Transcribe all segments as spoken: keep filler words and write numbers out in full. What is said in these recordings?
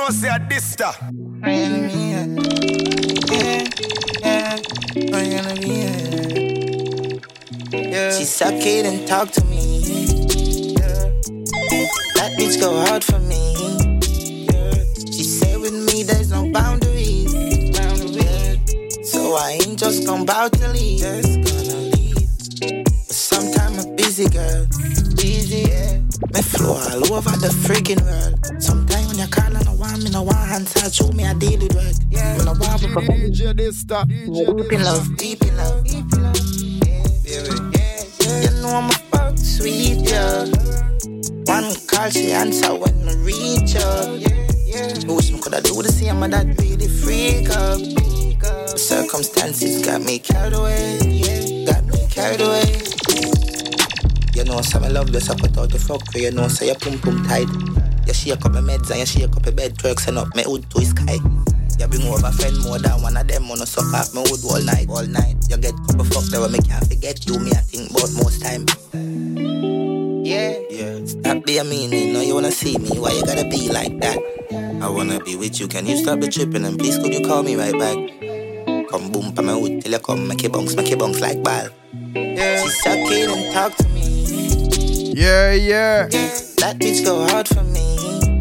know say a dista. Yeah, yeah, I'm gonna be here. Yeah. She suck it and talk to me. Yeah. That bitch go hard for me. Yeah. She said with me there's no boundaries. Boundaries. Yeah. So I ain't just gon' bow to leave. Just gonna leave. But sometime I'm busy, girl. Busy, yeah. Me flow all over the freaking world. Sometimes when you call and I want me, no one hand side, show me I deal with work. Yeah. When I want me, D J Dista. deep in love, deep in love, deep in love. Yeah, yeah, yeah. You know I'm a fuck sweet, yeah. One call, she answer when I reach her. Yeah, yeah. Wish me coulda do the same, but that really freak up. The circumstances got me carried away, yeah. Got me carried away. You know, some I love you, so put out the fuck for you know, so you pum pum tight. You shake up my meds and you shake up your bed, twerks and up my hood to the sky. You bring over friend more than one of them, wanna suck off my hood all night, all night. You get couple fuck that will make you forget you, me I think about most time. Yeah, yeah. Stop being mean, you know you wanna see me, why you gotta be like that? I wanna be with you, can you stop the tripping and please could you call me right back? Come boom pa my hood till you come, make you bounce, make you bounce like ball. Yeah. She suck it and talk to me. Yeah, yeah. Yeah, that bitch go hard for me.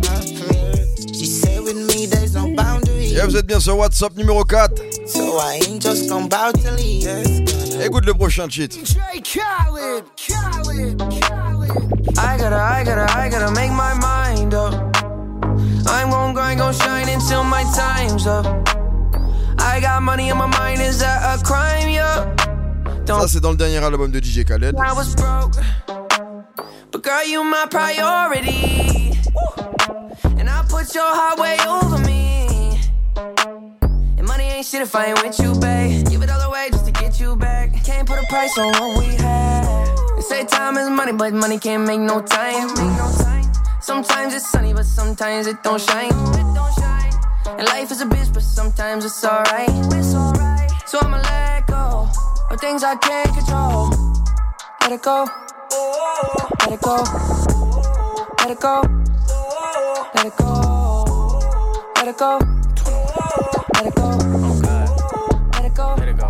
She said with me there's no boundaries. Yeah, vous êtes bien sur WhatsApp numéro quatre. So I ain't just gon' bow to leave. Écoute le prochain cheat. J Khaled, Khaled, Khaled. I gotta, I gotta, I gotta make my mind up. I'm gon' grind, gon' shine until my time's up. I got money in my mind, is that a crime, yeah? Don't Ça c'est dans le dernier album de D J Khaled. I was broke, but girl you my priority. And I put your heart way over me. And money ain't shit if I ain't with you, babe. Give it all away just to get you back. Can't put a price on what we had. They say time is money, but money can't make no time. Sometimes it's sunny, but sometimes it don't shine. And life is a bitch, but sometimes it's alright. So I'ma let go of things I can't control. Let it go. Let it go. Let it go. Let it go. Let it go. Let it go. Oh God. Let it go. Let it go.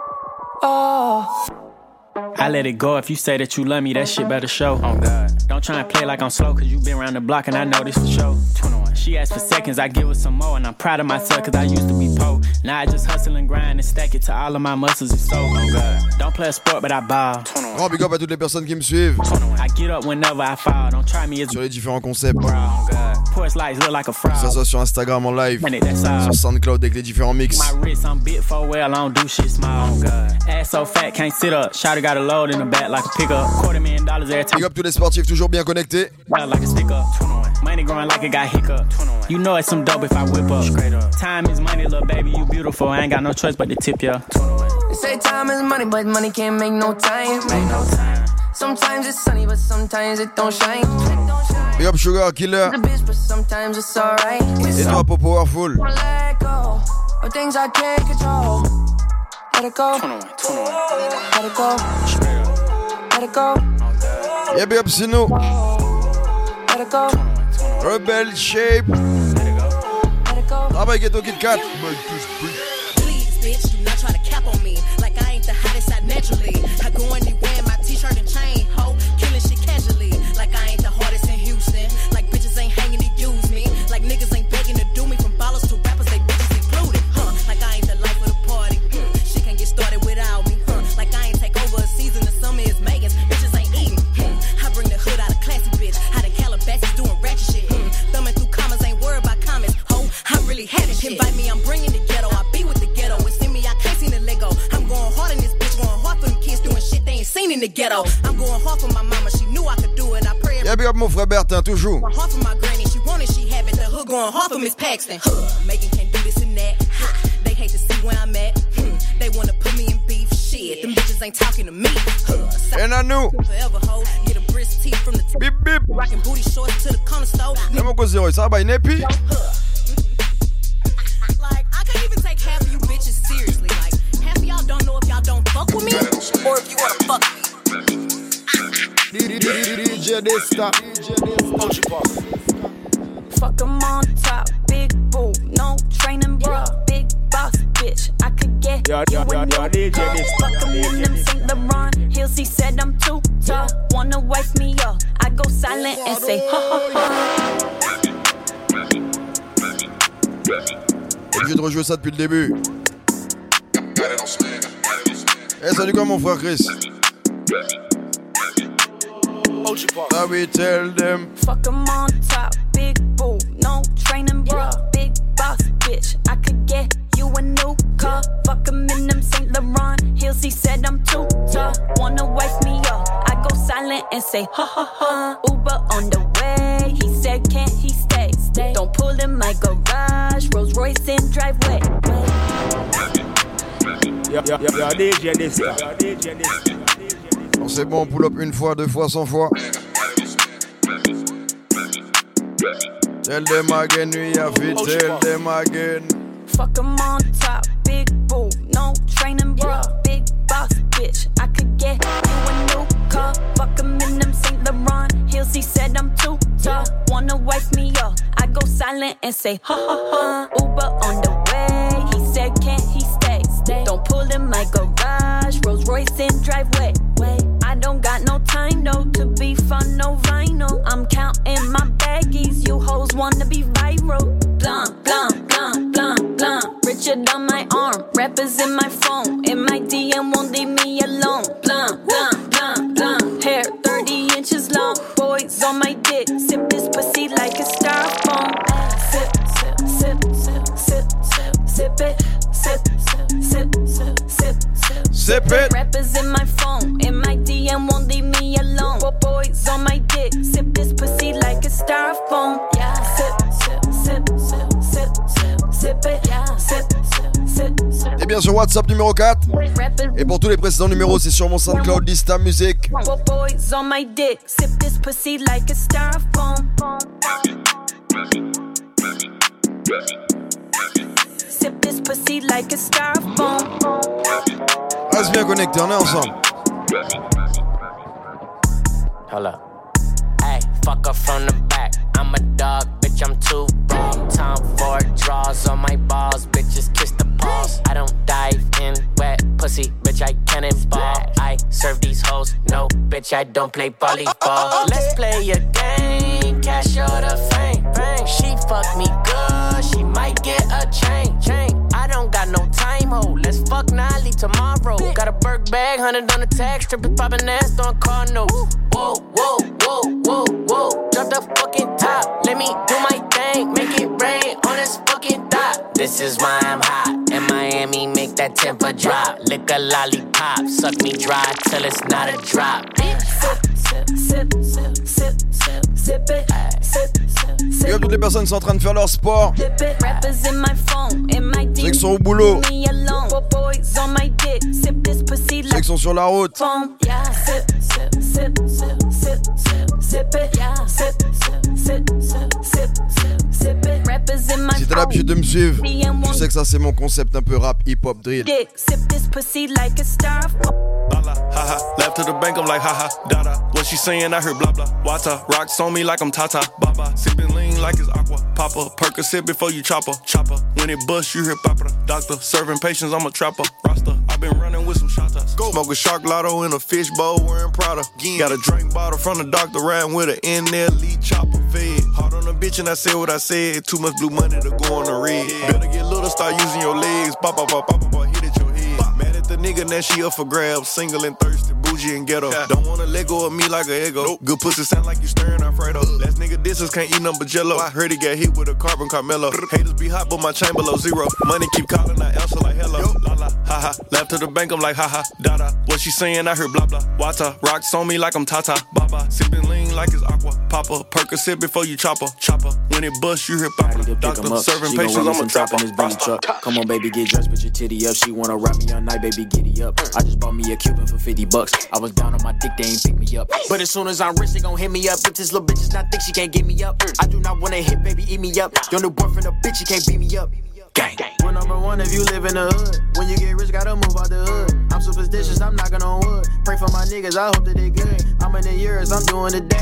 Oh. I let it go. If you say that you love me, that shit better show. Oh God. Don't try and play like I'm slow, cause you been around the block and I know this for sure. twenty-one. She asked for seconds, I give her some more. And I'm proud of myself cause I used to be po. Now I just hustle and grind and stack it to all of my muscles and so. Oh God. Don't play a sport but I ball. Grand big up à toutes les personnes qui me suivent I get up whenever I fall. Don't try me as sur les différents concepts. bro. Oh God. Porch lights look like a fraud. Que ça soit sur Instagram en live, Man, that's all. sur SoundCloud avec les différents mix. My wrist, I'm bit for well, I don't do shit small. Oh God. Ass so fat, can't sit up. Shawty got a load in the back like a pickup. Quarter million dollars every time. Big up tous les sportifs toujours bien connectés. Like a stick up. Money growing like it got hiccup. You know it's some dope if I whip up. Straight up. Time is money, little baby, you beautiful. I ain't got no choice but to tip ya. They say time is money, but money can't make no time. Make no time. Sometimes it's sunny, but sometimes it don't shine. Big up Sugar Killer. The bitch, but sometimes it's alright. Et toi, Pop Powerful. Wanna let go of things I can't control. Let it go. Let it go. Let it go. Yeah, big up Sino. Let it go. Rebel Shape. Let it go. Travail Ghetto Kit Kat. Please, bitch, do not try to cap on me. Like I ain't the hottest out naturally. I go anywhere in my t-shirt and chain, ho, killing shit casually. Like I ain't the hardest in Houston. Like bitches ain't hanging to use me. Like niggas ain't begging to do me. From ballers to rappers, they bitches included, huh? Like I ain't the life of the party. Hmm. Shit can't get started without me, huh? Like I ain't take over a season. The summer is Megan's. Bitches ain't eating. Hmm. I bring the hood out of classy bitch. Out of Calabasas doing ratchet shit. Hmm. Thumbing through commas, ain't worried about comments. Ho, I really have it. Invite me, I'm bringing the ghetto. I be with the ghetto. It's in me, I can't see the Lego. I'm going hard in this bitch, going hard for them kids doing shit they ain't seen in the ghetto. I'm going hard for my mama, she knew I could do it. I pray. Yeah, big up mon frère Bertin, toujours. Hard for my granny, she wanted, she have it. The hood going hard for Miss Paxton. Huh. Megan can't do this and that. Ha. They hate to see where I'm at. Hmm. They wanna put me in beef. Shit, them bitches ain't talking to me. Huh. And I knew. Forever hoe, get a brisk teeth from the t- Bip bip. rockin' booty shorts to the corner store. Et mon cousin, ça va, Nepi. Like, I can't even take half of you bitches seriously. Like, half of y'all don't know if y'all don't fuck with me or if you wanna fuck me. D J Dista. Fuck 'em on top, big boob, no training bra, big boss bitch. I could get yo, you yo, a yo, new yo, D J car. this, Fuck 'em in them Saint Laurent heels. He said I'm too tall, wanna wife me up. I go silent and say ha ha ha. Obligé de rejouer ça depuis le début. Eh, salut quoi mon frère Chris? Now we tell them. Fuck 'em on top, big boob, no training bra, big boss bitch. I could get you a new car. Fuck 'em in them Saint Laurent heels. He said I'm too tall, wanna wife me up. I go silent and say ha ha ha. Uber on the way. He said can't he stay? Stay. Don't pull in my garage. Rolls Royce in driveway. Yo, yo, yo, yo, D J this, yo, D J this. Bon, c'est bon, pull up une fois, deux fois, cent fois. Tell them again, we have it, tell them again. Fuck 'em on top, big boob, no training bra, big boss bitch. I could get you a new car. Fuck 'em in them Saint Laurent heels. He said I'm too tall, wanna wife me up. I go silent and say ha ha ha. Uber on the way. He said can't he stay? Stay. Don't pull in my garage. Rolls Royce in driveway. Wait, I don't got no time though to be fun, no vinyl. I'm counting my baggies. You hoes wanna be viral. Blunt, blunt, blunt, blunt, blunt. Richard on my arm, rappers in my phone. In my D M won't leave me alone. Blunt, blunt, blunt, blunt. Hair thirty inches long. Boys on my dick. Sip this pussy like a styrofoam. Sip, sip, sip, sip, sip, sip, sip it. Sip, sip, sip, sip, sip, sip. Sip it. Rappers in my phone. In my D M won't leave me alone. Boys on my dick. Sip this pussy like a styrofoam. Yeah. Sip, sip, sip, sip, sip, sip, sip it. Yeah. Sip, sip, sip, sip. Et bien sur WhatsApp numéro quatre. Rappers. Et pour tous les précédents numéros, c'est sur mon SoundCloud Lista Music. Boys on my dick. Sip this pussy like a styrofoam. Sip this pussy like a styrofoam. Reste bien connecté, on est ensemble. Hold up. Hey, fuck her from the back. I'm a dog, bitch, I'm too raw. Time for draws on my balls, bitches kiss the paws. I don't dive in wet pussy, bitch, I cannonball. I serve these hoes, no, bitch, I don't play volleyball. Let's play a game, cash or the fame. She fuck me good, she might get a chain. chain. I don't got no time, ho, let's fuck now, leave tomorrow. Got a Burke bag, hundred on the tag, stripping, popping ass, throwing car notes. Whoa, whoa, whoa, whoa, whoa, drop the fucking top. Let me do my thing, make it rain on this fucking dot. This is why I'm hot. In Miami, make that temper drop. Lick a lollipop, suck me dry till it's not a drop. Sip, sip, sip, sip, sip, sip, sip it. Sip, sip, Et comme toutes les personnes sont en train de faire leur sport, sip it. Rappers in my phone, in my D M. ceux qui sont au boulot, Me alone. Boys on my dick. Sip this pussy ceux like qui sont sur la route, foam. Yeah. Sip, sip, sip, sip, sip, sip, sip it. Yeah. Sip, sip, sip, sip, sip, sip, sip it. Rappers in my si t'as phone. l'habitude de me suivre, tu sais que ça c'est mon concept un peu rap, hip-hop, drill. Dick. Sip this pussy like a styrofoam. Lala, haha, left to the bank, I'm like haha, dada. What she saying, I heard blah blah. Wata, rocks on me like I'm Tata, baba. Sipping lean like it's aqua. Papa, Percocet before you chopper, chopper. When it bust, you hear papa. Doctor, serving patients, I'm a trapper. Rasta, I been running with some shotas. Go. Smoke a shark lotto in a fishbowl, wearing Prada. Yeah. Got a drink bottle from the doctor, riding with her in there, lead chopper. Fed. Hard on the bitch and I said what I said. Too much blue money to go on the red. Yeah. Better get little, start using your legs. Pop, pop, pop, pop, pop, hit at your head. Pop. Mad at the nigga, now she up for grabs. Single and thirsty, bougie and ghetto. Yeah. Don't wanna let go of me like a ego. Nope. Good pussy sound like you stirring Alfredo. Uh. Last nigga disses can't eat nothing but jello. I heard he got hit with a carbon Carmelo. Haters be hot, but my chain below zero. Money keep calling, I answer like hello. Yo. La la, ha ha. Left to the bank, I'm like ha ha, dada. What she saying, I heard blah blah. Wata, rocks on me like I'm Tata, baba. Sipping lean like it's aqua. Papa, Percocet before you chopper, chopper. When it bust, you hear papa. Doctor, serving patients, I'm a trapper. Come on, baby, get dressed, put your titty up. She wanna rock me all night, baby, giddy up. I just bought me a Cuban for fifty bucks. I was down on my dick, they ain't pick me up. But as soon as I'm rich, they gon' hit me up. If this little bitch is not thick, she can't get me up. I do not wanna hit, baby, eat me up. Your new boyfriend a bitch, he can't beat me up. Gang. We're number one if you live in the hood. When you get rich, gotta move out the hood. I'm superstitious, I'm knocking on wood. Pray for my niggas, I hope that they good. I'm in the years, I'm doing the dash. This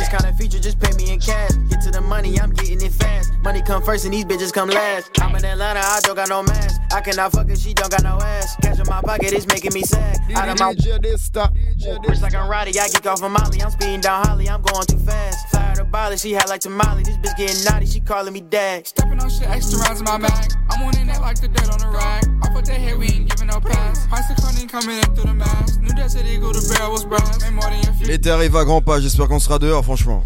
this kind of feature, just pay me in cash. Get to the money, I'm getting it fast. Money come first and these bitches come last. I'm in Atlanta, I don't got no mask. I cannot fuck her, she don't got no ass. Cash in my pocket, it's making me sad. Out of my rich like I'm Roddy, I geek off of Molly. I'm speeding down Holly, I'm going too fast. Fire to Bali, she had like tamale. This bitch getting naughty, she calling me dad. Stepping on shit, extra rounds in my bag. I'm on in that like the dirt on the rag. I put that head, we ain't giving no pass. Price of cunning coming in through the mask. Knew that city go, the barrel was brass. Ain't more than your feet. L'été arrive à grands pas, j'espère qu'on sera dehors, franchement.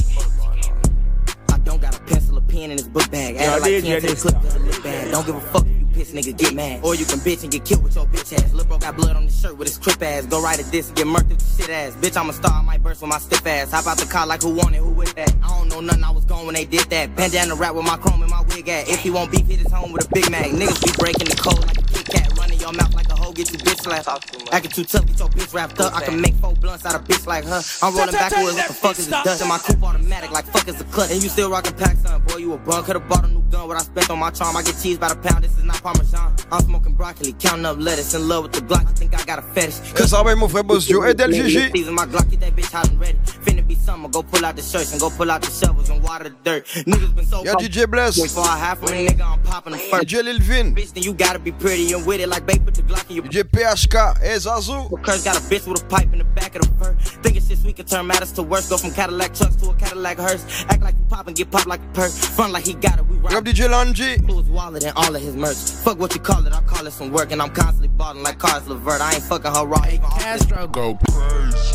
I don't got a pencil or pen in this book bag. Add like ten to the clip of the lip bag. Don't give a fuck if you piss, nigga, get mad. Or you can bitch and get killed with your bitch ass. Lil' bro got blood on his shirt with his crip ass. Go right at this and get murked with the shit ass. Bitch, I'm a star, I might burst with my stiff ass. Hop out the car like who want it, who with that? I don't know nothing, I was gone when they did that. Bandana rap with my chrome and my wig at. If he won't beef, hit his home with a Big Mac. Niggas be breaking the code like a Kit Kat. Running your mouth like a hoe, get you bitch slapped. Acting too tough, get your bitch wrapped up. I can make four blunts out of bitch like her. I'm rolling backwards, what the fuck is this dust? And my coupe automatic like fuck is a clutch. And you still rockin' pack, son, boy, you a bum. Could've bought a new gun, what I spent on my charm. I get cheese by the pound, this is not Parmesan. I'm smoking broccoli, counting up lettuce. In love with the Glock, I think I got a fetish. Et ça va, mon frère Boss Joe et Del Gigi. My Glock, get that bitch hot and ready. Finna be summer, go pull out the shirts and go pull out the shovels and water the dirt. Niggas been so Y'a D J Bless. Before I half a nigga, I'm popping them first. D J Lil Vin. Bitch, then you gotta be pretty and with it like babe put the Glock in your D J P H K et Zazu. Curse got a bitch with a pipe in the back of the fur. Thinking shit sweet can turn matters to worse. Go from Cadillac trucks to a Cadillac hearse. Act like you pop and get popped like a perk. Front like he got it, we rock. Yep, D J Lanji. Blew his wallet and all of his merch. Fuck what you call it, I call it some work. And I'm constantly balling like Cars Levert. I ain't fucking her raw. Castro go crazy.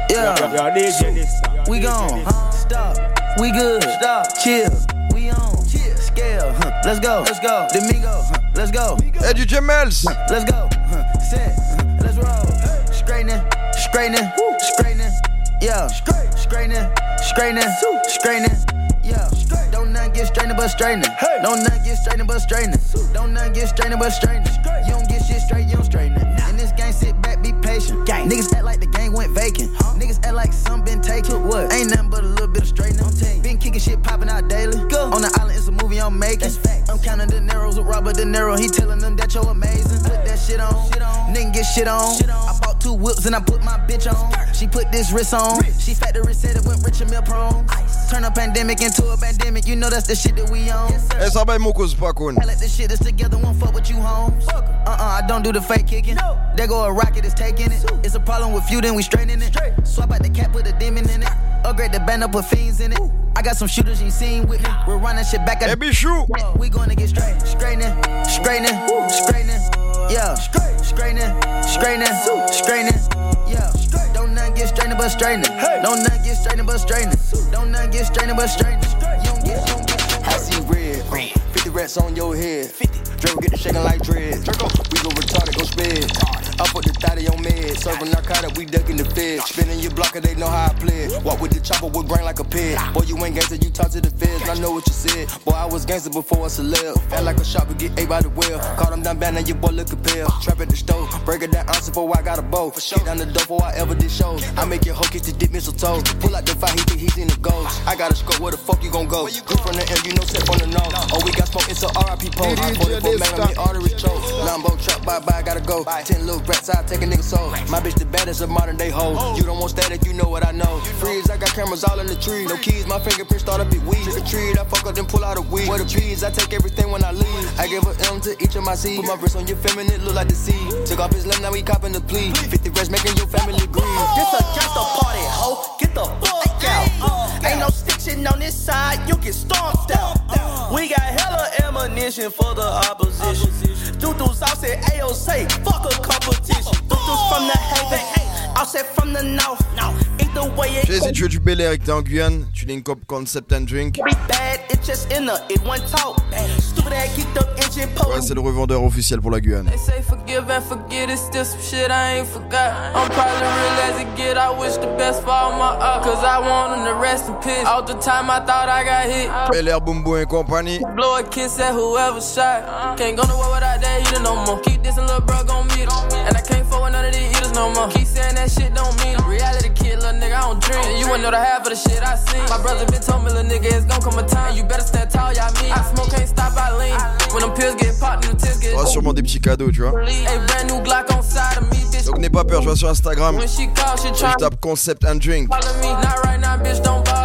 Yeah, we gone. Stop. We good. Stop. Chill. We on. Chill. Scale. Huh. Let's go. Let's go. Domingo. Huh. Let's go. Hey, D J Mels. Huh. Let's go. Huh. Set. Huh. Let's roll. Straightening. Straightening. Straightening. Yeah. Straightening. Straightening. Straightening. Yeah. Don't nothing get straightening but straightening. Don't nothing get straightening but straightening. Don't nothing get straightening but straightening. You don't get shit straight, you don't straighten it. In this game, sit back, be patient. Niggas act like the game went vacant. Niggas act like some been taken. What? Ain't nothing but a little bit of straightening. Been kicking shit popping out daily. On the island, it's a movie I'm making. I'm counting the Neros with Robert De Niro. He telling them that you're amazing. Put that shit on. Nigga get shit on. I bought two whips and I put my bitch on. She put this wrist on. She factory said it went rich and meal prone. Turn a pandemic into a pandemic. You know that's the shit that we on. Et ça va, mon cause pas con. I let this shit is together, won't fuck with you, homes. Uh-uh, I don't do the fake kicking. There go a rocket, is taking it. It's a problem with you, then we straightening it. Swap out the cap, put a demon in it. Upgrade the band up, put fiends in it. I got some shooters you ain't seen with me. We're running shit back at the Bichou. We gonna get straight, straightening, straightening, straightening. Yeah, straightening, straightening, straightening. Yeah, don't nothing get straightening but straightening. Don't nothing get straightening but straightening. Don't nothing get straightening but straightening. You don't get, you don't get. I see red, fifty rats on your head. Draco get the shaking like dread. We go retarded, go sped. I put the thotty on med. Serving narcotic, we ducking the feds. Spinning your blocker, they know how I play it. Walk with the chopper with brain like a pig. Boy, you ain't gangster, you talk to the feds. I know what you said. Boy, I was gangster before a celeb. Act like a shopper, get ate by the well. Caught him down bad, now your boy lookin' pale. Trap at the stove, break it down ounce before I got a bow. Get down the door before I ever did shows. I make your hoe kiss the dip mistletoe. Pull out the fire, he think he's in the ghost. I got a scope, where the fuck you gon' go? Good from the air, you know, set from the nose. Oh, we got smoke, it's a R I P pose. forty-four man, I'm the arteries choke. Lambo truck, bye bye, gotta go. Ten little rats, I take a nigga soul. My bitch the baddest of modern day hoes. You don't want static, you know what I know. Freeze, I got cameras all in the tree. No keys, my fingerprints start a bit weed. To the tree, I fuck up, then pull out a weed. Where the bees, I take everything when I leave. I give a M to each of my C's. Put my wrist on your feminine, look like the sea. Took off his limb, now we copping the plea. fifty rest making your family grieve. This a gangsta party, ho. Get the fuck out. Ain't no stitching on this side, you get stomped out. We got hella ammunition for the opposition. Doo-doos out said A O say, fuck a competition. Doo-doos from the haven, I said from the north. Either way it Jay-Z, tu veux du Bel Air et que t'es en Guyane, tu link up Concept and Drink. Bad, it just in the, it one talk. Stupid ass geeked up engine pole. Ouais, c'est le revendeur officiel pour la Guyane. They say forgive and forget, it's still some shit I ain't forgot. I'm probably real as it get, I wish the best for all my up. Cause I want them to rest in peace. All the time I thought I got hit. Bel Air, Bumbo et compagnie. Blow a kiss at whoever shot. Can't go nowhere without that heater no more. Keep this and little bro gon' meet him. And I can't fuck with none of these eaters no more. Keep saying that shit don't mean it. Reality kid, little nigga, I don't dream. And you wouldn't know the half of the shit I seen. My brother been told me, little nigga, it's gon' come a time. You better stand tall, y'all mean. I smoke, can't stop, I lean. When them pills get popped, them tears get. Oh, sûrement des petits cadeaux, tu vois. Hey, brand new Glock on side of me, bitch. Donc n'aie pas peur, je vois sur Instagram. When she call, she try. Je tape Concept and Drink. Follow me, not right now, bitch, don't bother.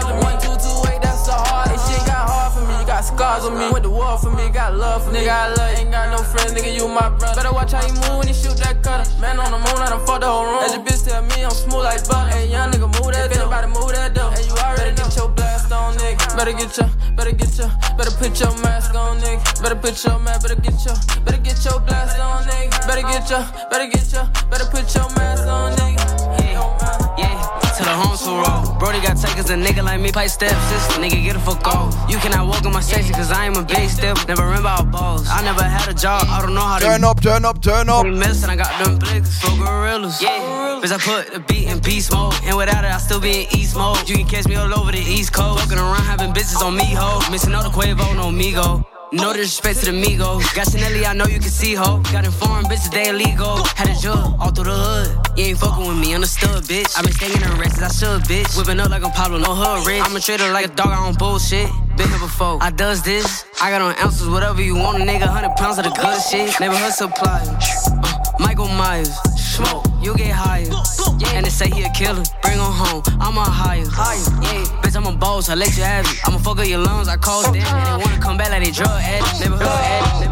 scars on me. Went to war for me, got love for me. Nigga, I love you. Ain't got no friends, nigga, you my brother. Better watch how you move when you shoot that cutter. Man on the moon, I done fuck the whole room. As your bitch tell me I'm smooth like butter. Hey, young nigga, move that dough. Anybody move that dough. Hey, you already better get your blast on, nigga. Better get your, better get your, better put your mask on, nigga. Better put your mask, better get your, better get your blast on, nigga. Better get your, better get your, better put your mask on, nigga. Yeah, yeah. To the home so roll. Brody got takers, a nigga like me, pipe step, sister. Nigga, get a fuck off. You cannot walk in my section, cause I am a big step. Never remember our balls. I never had a job, I don't know how to. Turn up, turn up, turn up. Mess and I got them blicks for gorillas. Yeah, bitch, I put the beat in beast mode. And without it, I still be in east mode. You can catch me all over the east coast. Walking around having bitches on me, ho. Missing all the Quavo, no Migo. No disrespect to the Migos. Got Chanelli, I know you can see, ho. Got informed bitches, they illegal. Had a jug all through the hood. You ain't fucking with me, understood, bitch. I been staying in the rest as I should, bitch. Whipping up like I'm Pablo, no hood rich. I'm a trader like a dog, I don't bullshit. Been here before, I does this. I got on ounces, whatever you want, a nigga. Hundred pounds of the good shit. Neighborhood supply. Uh, Michael Myers, smoke, you get higher. Yeah. And they say he a killer, bring him home. I'm a higher. Yeah, bitch, I'm a boss, I let you have it. I'ma fuck up your lungs, I call them. And they wanna come back like they drug addicts. Neighborhood addict.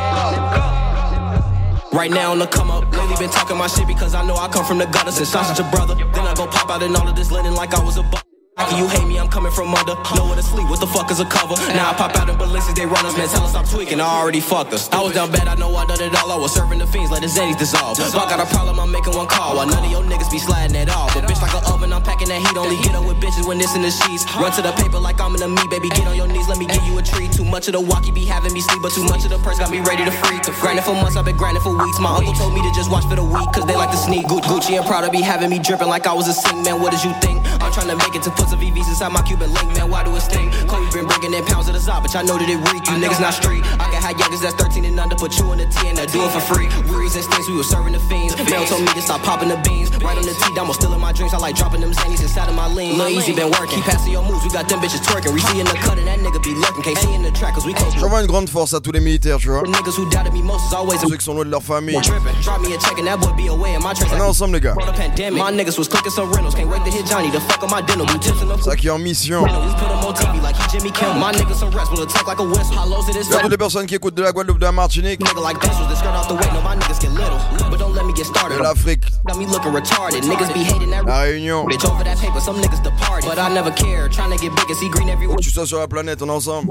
Right now on the come up, lately been talking my shit because I know I come from the gutter since I'm such a brother. Then I go pop out in all of this linen like I was a bu- How can you hate me? I'm coming from under. Nowhere to sleep. What the fuck is a cover? Now I pop out in Balenciagas, they run us, man. Tell us I'm tweaking. I already fucked us. I was down bad. I know I done it all. I was serving the fiends, let the Zeddies dissolve. So I got a problem. I'm making one call. While none of your niggas be sliding at all. But bitch like an oven, I'm packing that heat. Only get up with bitches when it's in the sheets. Run to the paper like I'm in the meat, baby. Get on your knees. Let me give you a treat. Too much of the walkie be having me sleep, but too much of the press got me ready to freak. Grinding for months, I've been grinding for weeks. My uncle told me to just watch for the week, cause they like to sneak. Gucci and Prada be having me dripping like I was a sing, man. What did you think? I'm trying to make it to put some V Vs inside my Cuban link, man, why do it sting? Chloe been bringing in pounds of the Zop, bitch, I know that it reek. You niggas not street. I can have youngers that's thirteen and under, put you in the T and I do it for free. Wearies and stings, we was serving the fiends. Mel told me to stop popping the beans. Right on the T, I'm still in my drinks. I like dropping them zannies inside of my lean. Lil' Easy been working, keep passing your moves. We got them bitches twerking. We see in the cut and that nigga be lurking. Can't see in the track, cause we close. J'envoie une grande force à tous les militaires, tu vois. Niggas who doubted me most is always ceux qui sont loin de leur famille. Drop me a check and that boy be away in my tracks. On est ensemble, les gars. My niggas was clicking some rentals. Can't wait to hit Johnny to fuck on my dental. C'est ça qui est en mission. Il y a toutes les personnes qui écoutent de la Guadeloupe, de la Martinique, de l'Afrique, la Réunion. Où tu sois sur la planète, on est ensemble.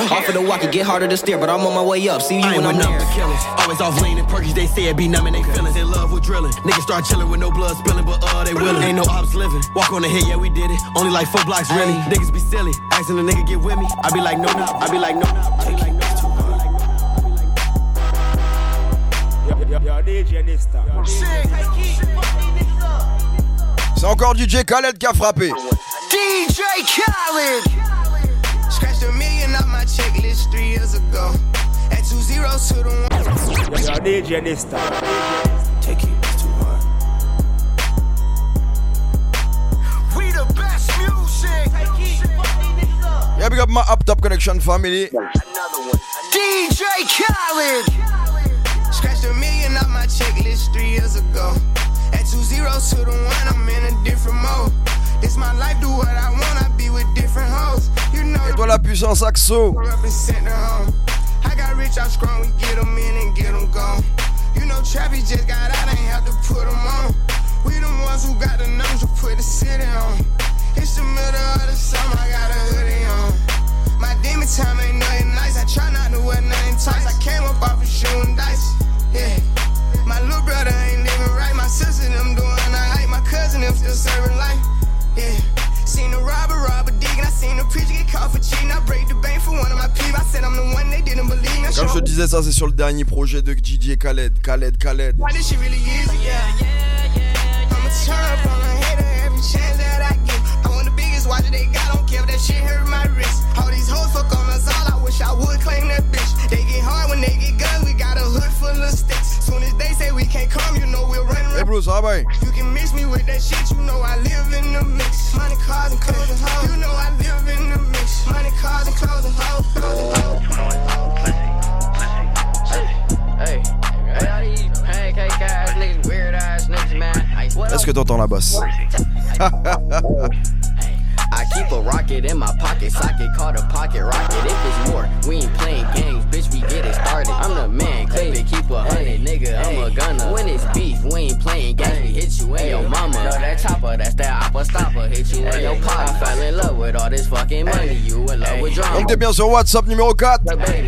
Always off lean and perkies, they say it be numbing they feelings. In love with drilling. Niggas start chilling with no blood spilling, but uh, they willing. Ain't no ops living. Walk on the hill, yeah, we did it. Only like four blocks, really. Niggas be silly. Asking the nigga get with me. I be like, no, no. I be like, no, no. I be like, no. C'est encore D J Khaled qui a frappé. D J Khaled. Scratched a million off my checklist three years ago. At two zeros to the one. Yo, D J Nista. Take it, it's too hard. We the best music. Yeah, big up my Up Top Connection family. D J Khaled. Scratched a million off my checklist three years ago. At two zeros to the one, I'm in a different mode. It's my life, do what I want, I be with different hoes. You know. Et toi la puissance Axo. I got rich, I'm strong, we get them in and get them gone. You know Trappy just got out, ain't have to put them on. We the ones who got the numbers to put the city on. It's the middle of the summer, I got a hoodie on. My demon time ain't nothing nice, I try not to wear nothing tight. I came up off of shooting dice, yeah. My little brother ain't living right, my sister them doing alright. My cousin them still serving life, yeah. Seen the robber, robber digging, I seen the preacher get caught for cheating. I break the bank for one of my people, I said I'm the one they didn't believe me. Comme je te disais, ça c'est sur le dernier projet de D J Khaled, Khaled, Khaled. Why this shit really easy, yeah, yeah, yeah. I'ma turn up on a hater every chance that I get. I want the biggest watch that they got, don't care if that shit hurt my wrist. All these hoes fuck on us all, I wish I would claim that bitch. They get hard when they get guns, we got a hood full of sticks. Soon as they say we can't come, you know we'll run. Hey Bruce, how about you can mix me with that shit, you know I live in the mix. Money, cars, and clothes and hoes. You know I live in the mix. Money, cars, and clothes and hoes. Hey, hey, all these pancake ass niggas, weird ass niggas, man. Est-ce que t'entends la basse? I keep a rock pocket, in my pocket socket, called a pocket rocket. If it's war, we ain't playing games, bitch, we get it started. I'm the man, clip it, keep a hundred, nigga, I'm a gunner. When it's beef, we ain't playing games, we hit you in your mama. No, that chopper, that's that oppa stopper, hit you in your pop. I fell in love with all this fucking money, you in love with drama. On t'es bien sur WhatsApp numéro quatre.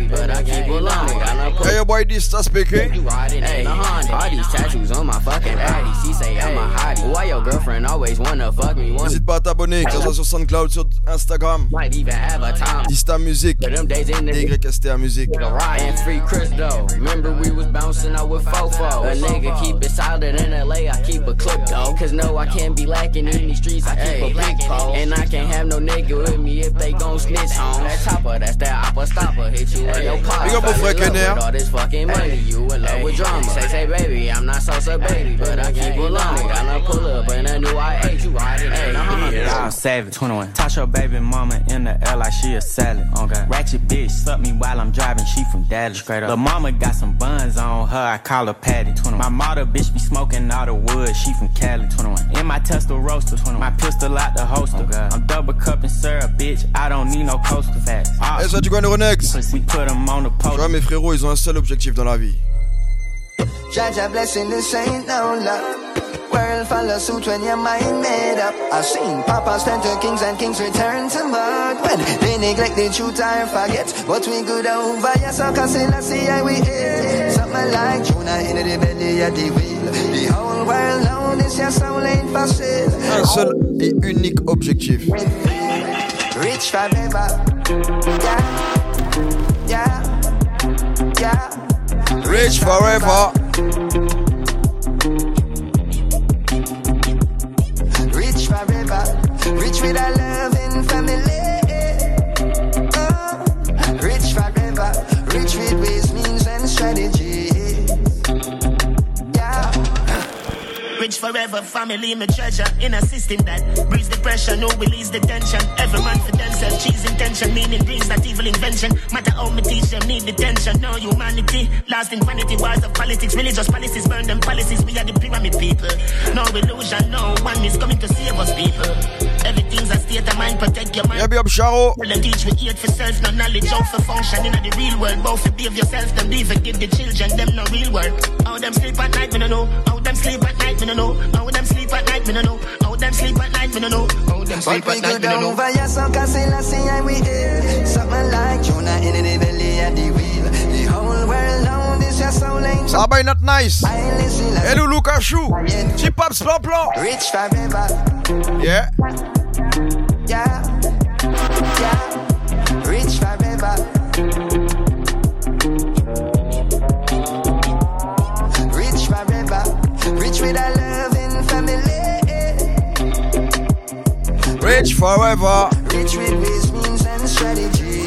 Hey, your boy Dista speaking. Hey, all these tattoos on my fucking daddy. She say I'm a hottie. Why your girlfriend always wanna fuck me? N'hésite pas à t'abonner, que ce soit sur SoundCloud, sur Instagram. Dista Music. D Y S T A Music. And free Chris though. Remember we was bouncing out with Fofo. A nigga keep it solid in L A. I keep a clip though. Cause no, I can't be lacking in these streets. I keep a big pole. And I can't have no nigga with me if they gon' snitch on. That chopper, that's that oppa stopper. Hit you in your pop. Big up mon frère Kenner. All this fucking money, you in love with drama. Say, say, baby, I'm not Sosa, baby, but I keep it long. Gotta pull up in a new I eight, you riding in a hundred. I'm savage, twenty-one. Touch your baby mama in the air like she a salad. Oh God. Ratchet bitch, suck me while I'm driving, she from Dallas. Straight up. The mama got some buns on her, I call her Patty, twenty-one. My mother bitch be smoking all the wood, she from Cali, twenty-one. In my Tesla roaster, twenty-one. My pistol out the holster. Oh I'm double cupping syrup, bitch, I don't need no coaster facts. Et ça, tu connais Renex. We put them on the post. Tu vois, mes frérots, ils ont un seul objectif dans la vie. Jaja blessing, this ain't no luck. World follow suit when your mind made up. I've seen papas turn to kings and kings return to mud. When they neglect the truth and forget what we good over. Yes, I can see, let's see how we eat. Something like Jonah in the belly of the wheel. The whole world knows this, your soul ain't for sale. Un seul et unique objectif. Rich forever. Yeah. Yeah. Yeah. Rich forever. Rich forever. Rich with a loving family. Oh. Rich forever. Rich with ways, means, and strategy. Yeah. Rich forever, family, my treasure. In a system that breeds the pressure, no release the tension. Every man for themselves, cheese intention, meaning brings that evil invention. Matter how me teach them, need detention. No humanity, lost in vanity, wars of politics, religious policies, burn them policies. We are the pyramid people. No illusion, no one is coming to save us, people. Everything's a state of mind, protect your mind. Yeah, be up, Sharo. Well, them teach we eat for self, no knowledge, how for function in the real world. Both forgive yourself, them leave it, give the children, them no real world. How them sleep at night, me no know. How them sleep at night, me no know. How them sleep at night, me no know. How them sleep at night, me no know. How them sleep at night, me no know. Over your son, cause I see how we eat. Something like Jonah in the belly of the wheel. The whole world knows this, your soul ain't. Ça va, not nice. Et nous, Lucas Chou. Chip Pops, plan plan. Rich forever. Yeah. Yeah. Yeah. Rich forever. Rich forever. Rich with a loving family. Rich forever. Rich with ways, means, and strategy.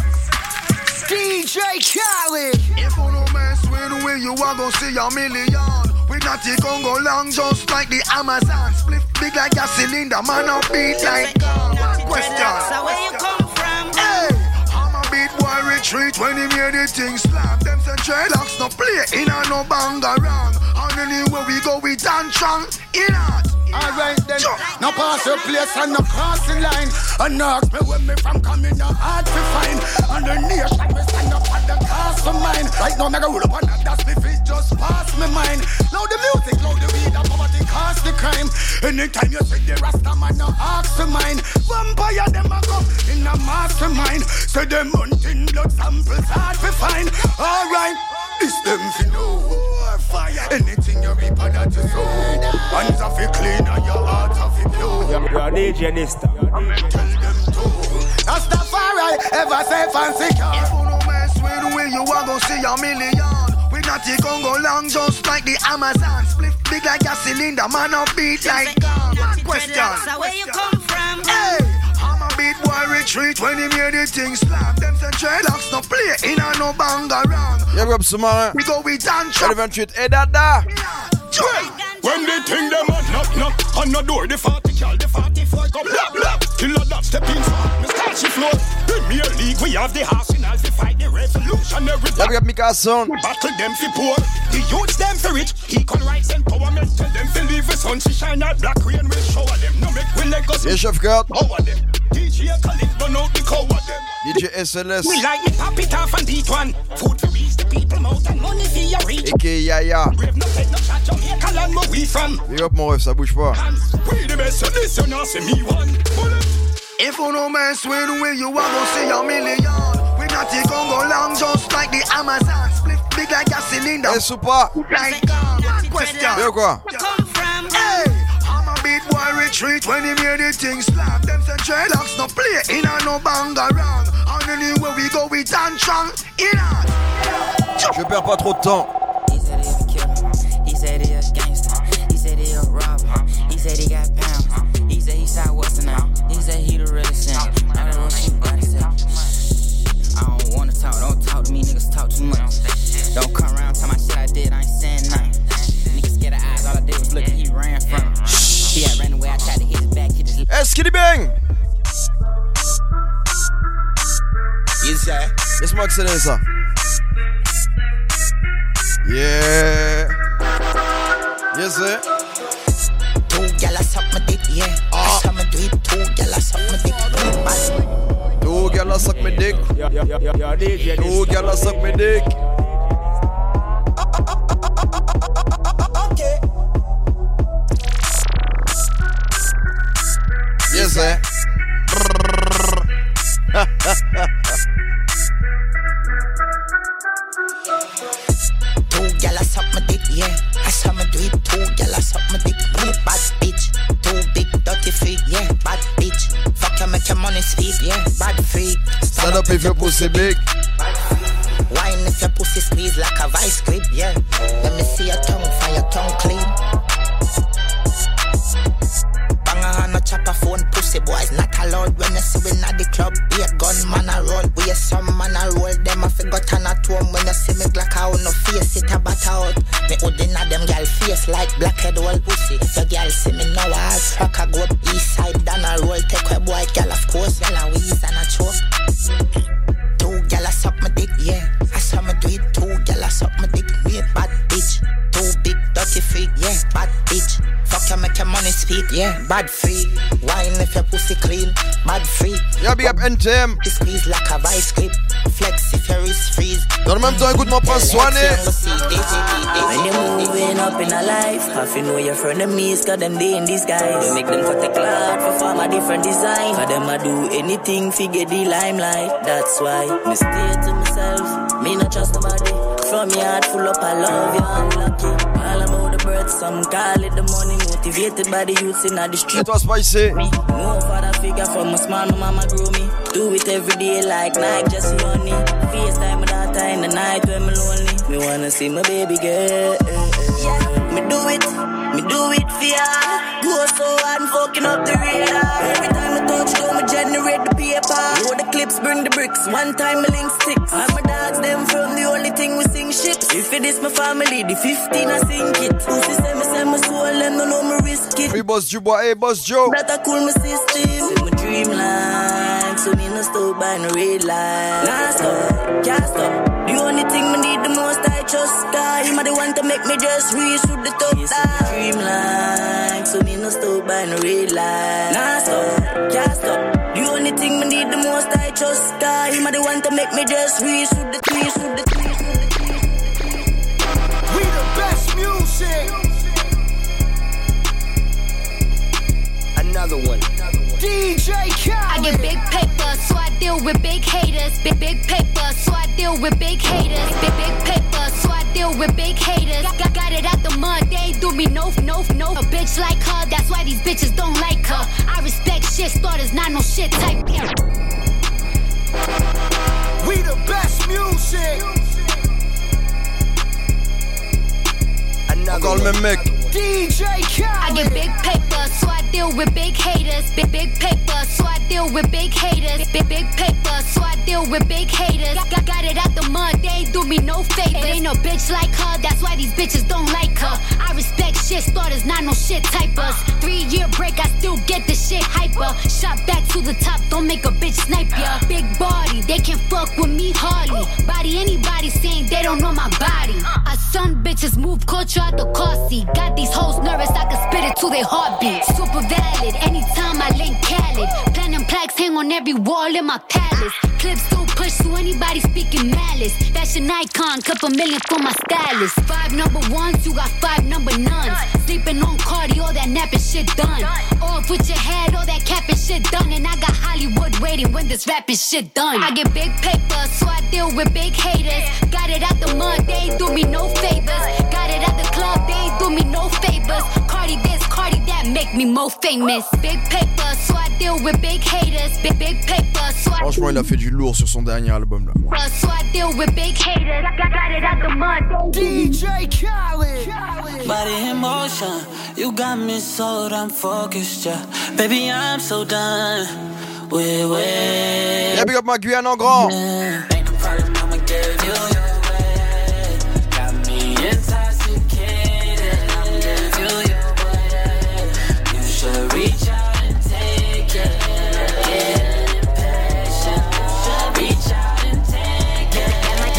D J Khaled. If you no mess with we, you are gonna see a million. We not it gon' go long, just like the Amazon. Split big like a cylinder, man up beat like gun. Question. So where you come from? Hey, I'm a beat boy retreat when he made the thing slap. Them say dreadlocks no play in a no banga wrong. And anywhere we go, we dance strong. In art. Alright then, no pass your place and no crossing line. And ask me where me from coming, no hard to find. And the nation me stand up at the cast of mine. Right now me go roll up on that, that's me feet just pass me mind. Now the music, now the weed, and poverty cause the crime. Anytime you see the Rasta man, no ask to mine. Vampire them a come in a mastermind. Say them hunting blood samples hard to find. Alright, this them fi know. Fire. Anything you reap and that you sow. Hands off it clean and your heart off it pure. You're D J Nista. Tell them to. That's the far right, ever safe and secure. If you no mess with we, you are gonna see a million. We not it gon' go long, just like the Amazon. Split big like a cylinder, man up beat like gun. Question. So where you come from? Hey. Beat boy retreat when he made the thing slap. Them say dreadlocks no play in a no banga wrong. Yeah, Rob Sumara. We go with dance. vingt-huit. Hey, Dada. When they think them a knock knock on the door, the forty cal, the forty-four come blah blah. Killer that step in front, me start she floor. Premier League, we have the arsenal to fight the revolutionary. Yeah, we got Mika Son. Battle them for poor, the youths them for rich. Equal rights empowerment, tell them to leave the sun to shine out black rain will shower them. No make we let us. Yeah, Chef Kurt. Power them. D J D J S L S. We like me pop it off and beat one. Food for reach the people mouth and money for your reach. A K A Yaya. Brave no take no shot, Jamaica land where we from. Big up mon ref, ça bouge pas. We the best, so this you know, say me one. If you no man swear the way you want to see a million. We not take on go long just like the Amazon. Split big like a cylinder. Est-ce ou pas? Like God, question. De quoi? Hey, I'm a big boy retreat when he made the thing slap. Them say dreadlocks no play in a no bang around. And anywhere we go we dance strong. In a. Je perds pas trop de temps. He said he a killer. He said he a gangster. He said he a robber. He said he got pounds. He said he saw what's now. He said he the realest thing. I don't know what you gotta say. I don't wanna talk, don't talk to me, niggas talk too much. Don't come around, tell my shit I did, I ain't saying nothing. Niggas scared of eyes, all I did was look and he ran from it. He had ran away, I tried to hit his back, he just. Hey, Skitty Bang! Yes, sir. Laisse-moi accélérer ça. Yeah. Yes, sir. Two gyal suck my dick, yeah. That's how me do it. Two gyal suck my dick. Two gyal suck my dick. Two gyal suck my dick. Okay. Yes, sir. Two gyal suck my dick, yeah. That's how me do it. Two gyal suck my dick. Bad bitch. Two big dirty feet, yeah. Bad bitch. Fuck you, make your money speak, yeah. Bad freak. Stand up if your pussy big. Wine if your pussy squeeze like a vice grip, yeah. Let me see your tongue, find your tongue clean. Banger on a chopper phone, pussy boys not allowed. When you see we at the club, be a gun man a roll. We a some man a roll, them a figure turn at home. When you see me black out, no face it a bat out. Me hood inna them girl face like blackhead old pussy. If your girl see me now, I'll fuck a go up east side down a roll. Take a boy girl of course, girl a wheeze and a choke. Two gyal suck my dick, yeah. I saw me do it. Two gyal suck my dick, me a bad bitch. Two big dirty freak, yeah. Bad bitch. Fuck you, make your money speak, yeah. Bad freak. Wine if your pussy clean. Bad freak. Yeah, big up N T M. He squeeze like a vice grip. Flex if your wrist freeze. Dans le même temps, écoute mon prince Swanee. When you're moving up in a life, half you know your frenemies, cause them they in disguise. You make them cut the cloud for form a different design. Cause them a do anything to get the limelight. That's why me stay to myself, me not trust nobody. From your heart full up, I love you, I'm lucky. All about the birds, some call it the money. Motivated by the youths in the street. Et toi, Spicy? Me, no father figure from a small, my mama grew me. Do it every day like Nike, just honey. FaceTime my daughter in the night when me lonely. Me wanna see my baby girl. Yeah, me do it, me do it for ya. Go so hard and fucking up the radar. Every time I touch go, me generate the paper. Roll the clips, bring the bricks. One time me link sticks. And my dogs, them from the only thing we sing shit. If it is my family, the fifteen I sing it. Pussy say me say my soul, them no know me risk it. Hey, Boss Joe, hey, Boss Joe. That I cool my system. See my dream line, so me no stop by no red light. Nah stop, can't stop. The only thing me need the most I trust God. Him a the one to make me just reach through the top. Yes, my dream line, so me no stop by no red light. Nah stop, can't stop. The only thing me need the most I trust God. Him a the one to make me just reach through the trees, through the trees, through the trees. We the best music. Another one. D J Khaled. I get big paper, so I deal with big haters. Big big paper, so I deal with big haters. Big big paper, so I deal with big haters. Got, got it out the mud, they ain't do me no no no. A bitch like her, that's why these bitches don't like her. I respect shit starters, not no shit type. We the best music. Encore le même mec. D J Khaled. I get big paper, so I deal with big haters. Big big paper, so I deal with big haters. Big big paper, so I deal with big haters. Got, got it out the mud, they ain't do me no favors. Ain't no bitch like her, that's why these bitches don't like her. I respect shit starters, not no shit typers. Three year break, I still get the shit hyper. Shot back to the top, don't make a bitch snipe ya. Big body, they can fuck with me hardly. Body anybody saying they don't know my body. I son bitches move culture out the car seat. Got these hoes nervous, I can spit it to their heartbeat. Super valid, anytime I link Khaled. Platinum plaques hang on every wall in my palace. Clips don't push to anybody speaking malice. Fashion icon, couple million for my stylist. Five number ones, you got five number nuns. Sleeping on Cardi, all that napping shit done. Off with your head, all that capping shit done. And I got Hollywood waiting when this rapping shit done. I get big paper, so I deal with big haters. Got it out the mud, they ain't do me no favors. Got it out the club, they ain't do me no favors. Cardi this, Cardi that, make me more famous. Big paper, so I deal with big haters. Big, big paper, so I... Franchement, il a fait du lourd sur son dernier album là. So I deal with big haters. Got it out the mud. D J Khaled. Body in motion, you got me sold, I'm focused, yeah. Baby, I'm so done. Wait, wait. Yeah, big up ma Guyane en grand. Yeah. Ain't no problem, I'ma give you your way. Got me intoxicated, I'll give you your way. You should reach out and take it. Get impatient, you should reach out and take it.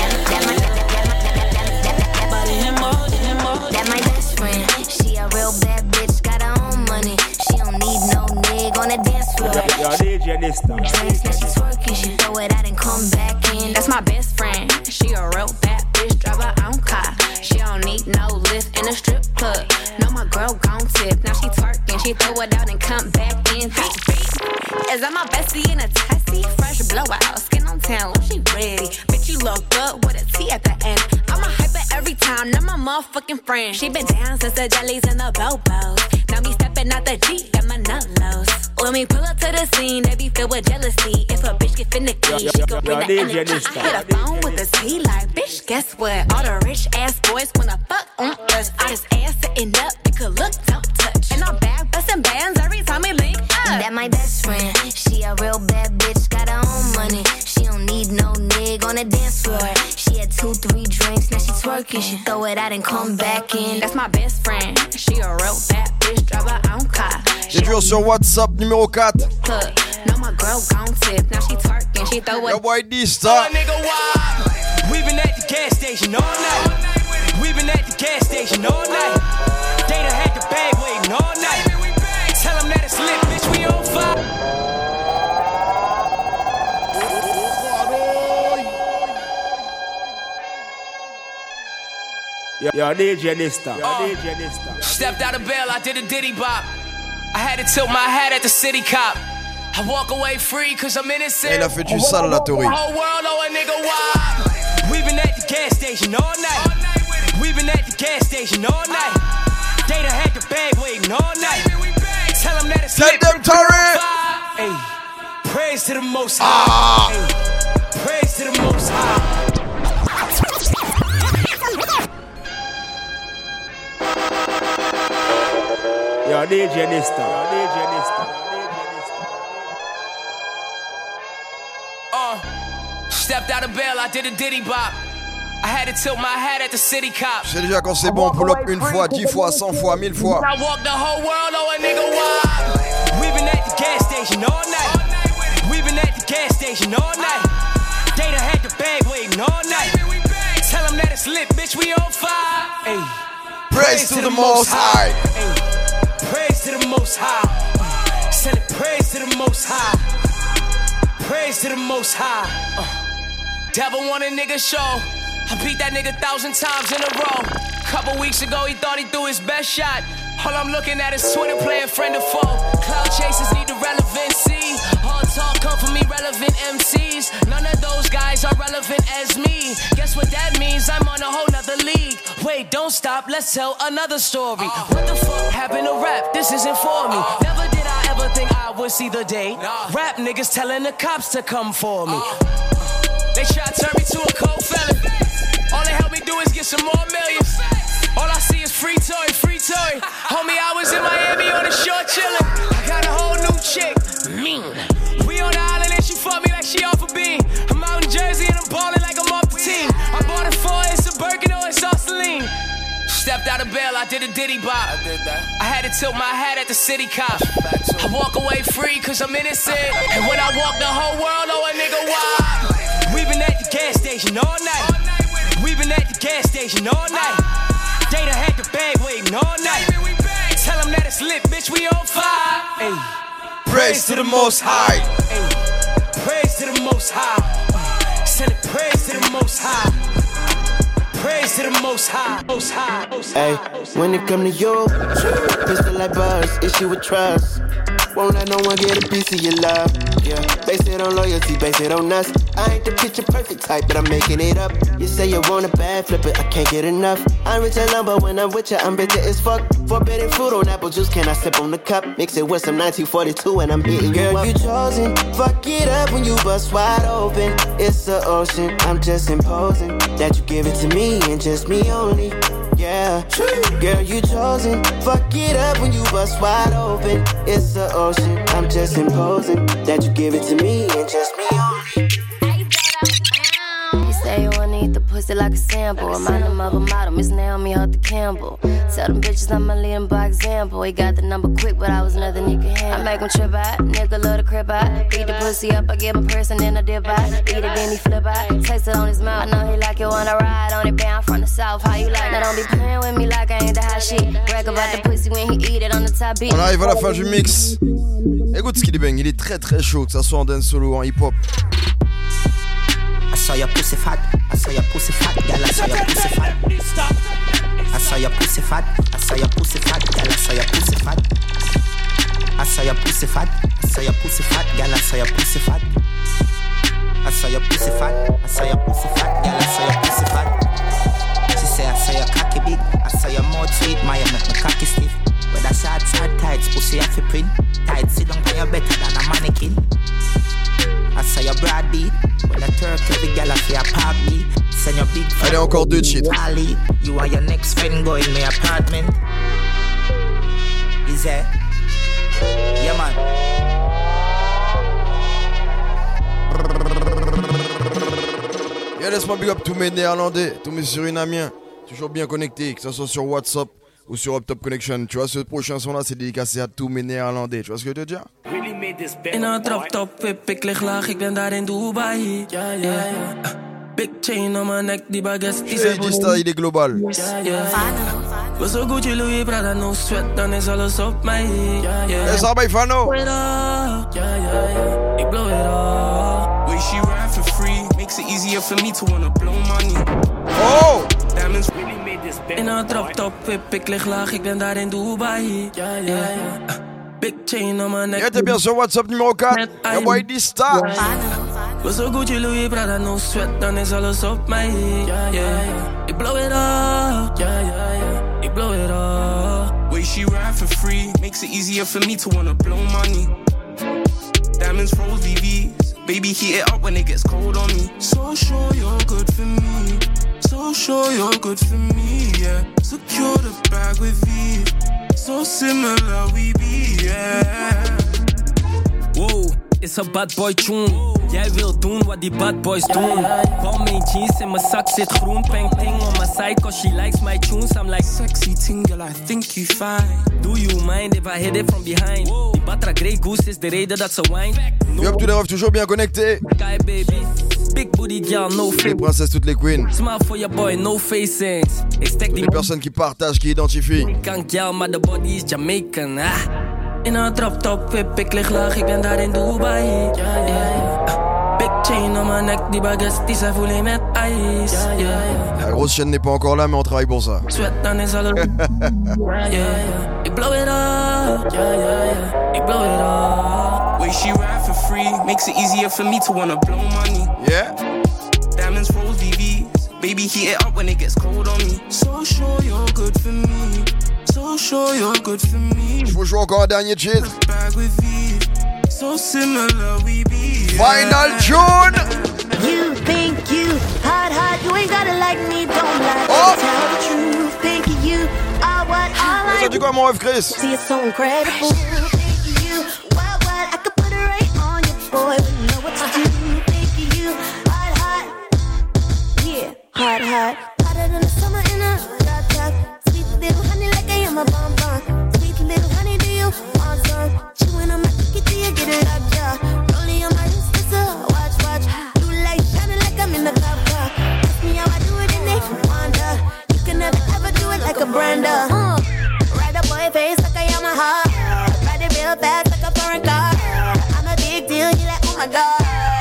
Body in motion, in motion. That my best friend, she a real bad bitch, got her own money. She don't need no nigga on the dance floor. Yo, D J this time. Drinks, now she twerking, she throw it out and come back in. That's my best friend, she a real bad bitch, drive her own car. She don't need no lift in a strip club. No, my girl gon' tip, now she twerking, she throw it out and come back in. Is that my bestie in a tessie? Fresh blowout, skin on town, she ready. Bitch, you look good with a T at the end. I'm a hyper every time, not my motherfucking friend. She been down since the jellies and the bobos. Now me stepping out the Jeep, got my nut lows. When we pull up to the scene, they be filled with jealousy. If a bitch get finicky, she gon' bring the energy. I hit a phone with a T like, bitch, guess what? All the rich ass boys wanna fuck on us. I just ass sitting up, they could look, don't touch. And I'm back bustin' bands every time we link up. That my best friend, she a real bad bitch, got her own money. She don't need no nigga on the dance floor. She had two, three drinks, now she twerking. She throw it out and come back in. That's my best friend, she a real bad bitch, drive her own car. C'est toujours sur WhatsApp numéro quatre. No, my girl gon' tip, now she twerking, she throw it. Yo, boy, D-Star. We been at the gas station all night. We been at the gas station all night. They done had the bag waiting all night. Tell them that it's lit, bitch, we on fire. Yo, yo, D J this time. Yo, D J this time. Stepped out of bail, I did a diddy bop. I had to tilt my hat at the city cop. I walk away free cause I'm innocent. Il a fait du sale la Tori. Whole world, oh a nigga wild. We been at the gas station all night. We been at the gas station all night. They done had the bag waiting all night. Tell them that it's lit. Tell them, Tori. Hey, praise to the Most High. Hey, praise to the Most High. Yo, D J this time. Yo, D J this time. Uh, stepped out of bail, I did a diddy bop. I had to tilt my hat at the city cop. Je sais déjà quand c'est bon, pull up une fois, dix fois, cent fois, mille fois. I walk the whole world, oh a nigga wild. We been at the gas station all night. We been at the gas station all night. They done had the bag waiting all night. Tell them that it's lit, bitch, we on fire. Ay. Praise, praise to, to the, the Most High. Ay. Praise to the Most High. Send it praise to the Most High. Praise to the Most High. Uh. Devil want a nigga show. I beat that nigga a thousand times in a row. Couple weeks ago, he thought he threw his best shot. All I'm looking at is Twitter playing friend or foe. Cloud chasers need the relevancy. All talk come from irrelevant M Cs. None of those guys are relevant as me. Guess what that means? I'm on a whole nother league. Wait, don't stop, let's tell another story. Uh, what the fuck happened to rap? This isn't for me. Uh, Never did I ever think I would see the day. Nah. Rap niggas telling the cops to come for me. Uh, they try to turn me to a cold felon. All they help me do is get some more millions. All I see is free toy, free toy. Homie, I was in Miami on the shore chillin'. I got a whole new chick. Mean. We on the island and she fuck me like she off a beam. I'm out in Jersey and I'm ballin' like I'm off the team. I bought it for it's a Birkin or it's all Celine. Stepped out of bail, I did a diddy bop. I did that. I had to tilt my hat at the city cop. I walk away free cause I'm innocent. And when I walk the whole world, oh a nigga wild. We been at the gas station all night. We been at the gas station all night. They done had the bag waiting all night. Tell them that it's lit, bitch, we on fire. Ay. Praise to the Most High. Ay. praise to the Most High. Send it praise to the Most High. Praise to the Most High. Most High. Most High. Hey, when it come to you, pistol like buzz, issue with trust. Won't let no one get a piece of your love. Yeah, base it on loyalty, base it on us. I ain't the picture perfect type, but I'm making it up. You say you want a bad flip it, I can't get enough. I'm rich alone, but when I'm with you, I'm bitter as fuck. Forbidden fruit on apple juice, can I sip on the cup? Mix it with some nineteen forty-two and I'm hitting you up. Girl, you chosen, fuck it up when you bust wide open. It's the ocean, I'm just imposing that you give it to me and just me only. Yeah, girl, you chosen. Fuck it up when you bust wide open. It's the ocean. I'm just imposing that you give it to me and just me only. You say you wanna eat the pussy like a sample. Remind them of a model, Miss Naomi Arthur Campbell. Tell them bitches I'ma lead them by example. He got the number quick, but I was nothing he could handle. I make him trip out, nigga love the crib out. Beat the pussy up, I give him a person, then I dip out. Eat it, then he flip out. Taste it on his mouth, I know he like it, wanna ride on it, bound from the south. How you like? Now don't be playing with me like I ain't the hot shit. Brag about the pussy when he eat it on the top beat. On arrive à la fin du mix. Écoute Skilly Bang, il est très très chaud, que ça soit en dance solo ou en hip hop. I saw your pussy fat, I saw your pussy fat, girl, I saw your pussy fat. I saw your pussy fat, I saw your pussy fat, girl, I saw your pussy fat. I saw your pussy fat, I saw your pussy fat, girl, I saw your pussy fat. I saw your pussy fat, I saw your pussy fat, girl, I saw your pussy fat. She say I saw your cocky big, I saw your mouth sweet, my make my cocky stiff. Whether shorts or tights, pussy off your print. Tight sit down for you better than a mannequin. I saw your broad beat. When I turk every gal off your park beat. Send your big friend. Allez, encore deux cheats. Ali, you and your next friend go in my apartment. Is that? Yeah, man. Yeah, laisse-moi big up tous mes néerlandais, tous mes surinamiens. Toujours bien connectés, que ce soit sur WhatsApp ou sur Up Top Connection. Tu vois, ce prochain son là, c'est dédicacé à tous mes néerlandais. Tu vois ce que je veux dire? In een drop top whip, ik lig laag, ik ben daar in Dubai. Ja, ja, ja. Big chain om mijn nek, die baguette die zijn die style, il est global. Ja, ja. We zo Gucci, Louis Prada, no sweat, dan is alles op mij. Ja, ja. Dat is al bij Vano. Ja, ja, ja. Ik blow it all. Way she ride for free, makes it easier for me to wanna blow money. Oh! Diamonds really made this band. In een drop top whip, ik lig laag, ik ben daar in Dubai. Ja, ja, ja. Big chain on my neck. Ja, t'es bien sur WhatsApp numéro quatre. Yo, boy, die star. We zo Gucci, Louis Prada, no sweat, dan is alles op mij. Yeah, yeah. Ik blow it up. Yeah, yeah, yeah. Ik blow it up. Way she ride for free, makes it easier for me to wanna blow money. Diamonds, rose V V's. Baby, heat it up when it gets cold on me. So sure you're good for me. So sure you're good for me, yeah. Secure the bag with V. So similar we be, yeah. Wow, is a bad boy tune. Jij wil doen wat die bad boys doen. Val mijn jeans in mijn zak zit groen. Peng ting on my side cause she likes my tunes. I'm like sexy tingle, I think you fine. Do you mind if I hit it from behind? Die Batra Grey Goose is de reden dat ze wine. No. Yo, tous les refs toujours bien connectés. Sky baby. Big booty girl, no face. Les princesses, toutes les queens. Smile for your boy, no facings. Toutes les personnes qui partagent, qui identifient. Kan girl, maar de body is Jamaican. Ah. In een drop top whip, ik lig laag, ik ben daar in Dubai. Yeah, yeah, yeah. Big chain on my neck, die baguettes die zijn voelen met ijs. Yeah, yeah, yeah. La grosse chaîne n'est pas encore là, mais on travaille pour ça. Sweat, dan is alles. Yeah, yeah. Ik blow it up. Yeah, yeah, yeah. Ik blow it up. Way she ride for free, makes it easier for me to wanna blow money. Yeah. Diamonds, rose V V's. Baby, heat it up when it gets cold on me. So sure you're good for me. So sure you're good for me. Je vous joue encore un dernier cheat. So similar we be. Final tune. You think you hot, hot. You ain't gotta like me, don't like oh. me. Tell the truth. Think you are what I like. Ça dit quoi, mon rêve, Chris? See, it's so incredible. Think you what, what? I could put it right on you, boy. We know what to do. Think you hot, hot. Yeah, hot, hot. Hotter than the summer in a hot tub. Sweet little honey, like I am a bonbon. Sweet little honey, do you want some? Chewing on my cookie, do you get it up, yeah? Rolling on my wrist, it's a watch, watch. Blue light shining like I'm in the club, car. Ask me how I do it and they wonder. You can never ever do it like a Brenda. Uh, ride a boy face like I am a heart. Ride it real fast like a foreign car. I'm a big deal, you like, oh my god.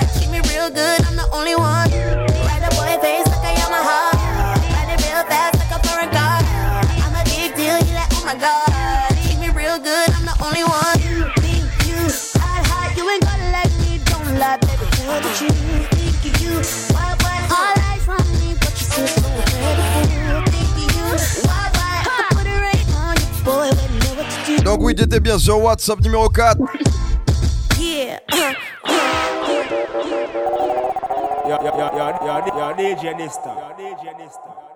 good, I'm the only one. Ride a boy face like I am a heart. Ride it real fast like a foreign car. I'm a big deal, he like, oh my god. Treat me real good, I'm the only one. You think you hot, hot, you ain't gonna like me, don't lie, baby. Know that you think of you. Why, why, all eyes on me, but you still so incredible. Think of you. Why, why, I could put it right on you, boy, but you know what to do. Donc oui, t'étais bien sur WhatsApp numéro quatre. Yeah. Yo, yo, yo, yo, yo, yo, D J Nista. Yo, D J Nista.